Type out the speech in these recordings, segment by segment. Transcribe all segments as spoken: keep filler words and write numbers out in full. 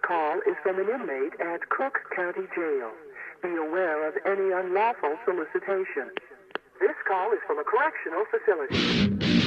call is from an inmate at Cook County Jail. Be aware of any unlawful solicitation. This call is from a correctional facility.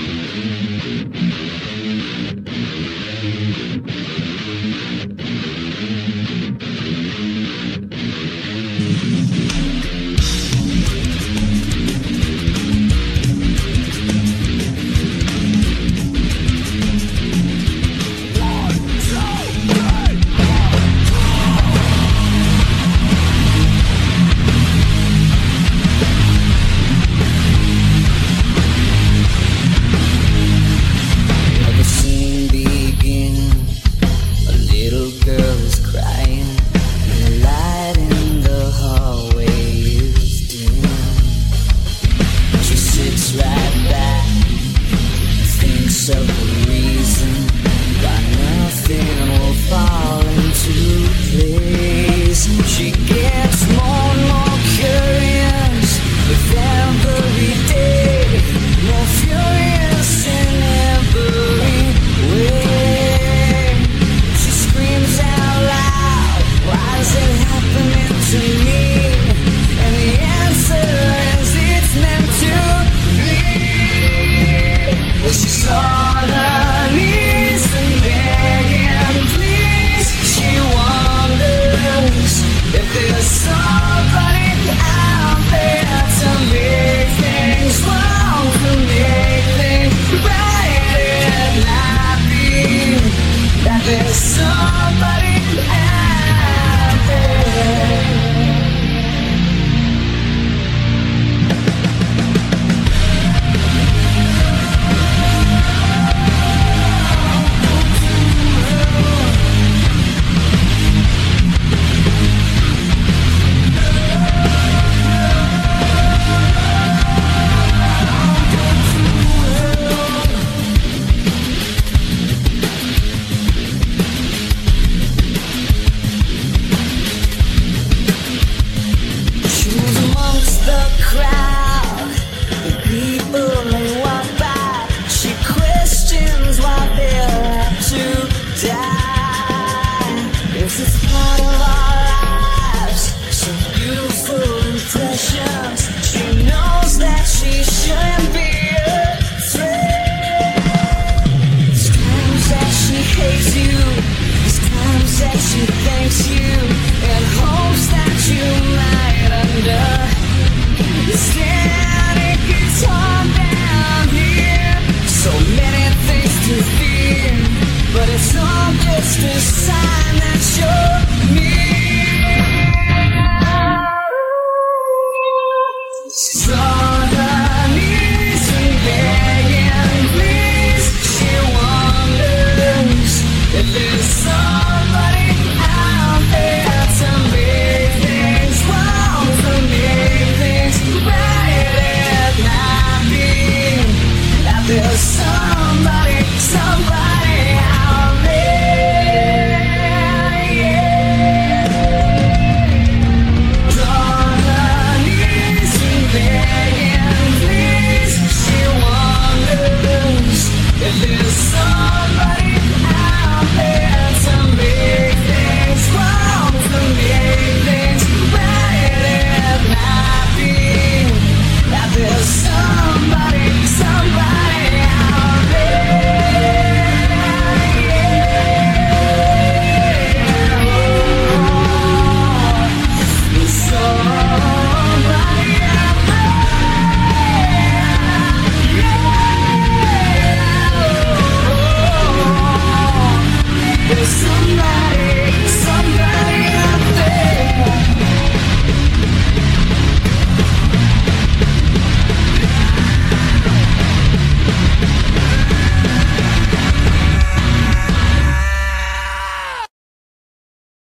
Of the reason why nothing will fall into place. She gets more and more curious with every day, more furious in every way. She screams out loud, why is it happening to me? And the answer is it's meant to be. Well, she's all there's somebody out there. This is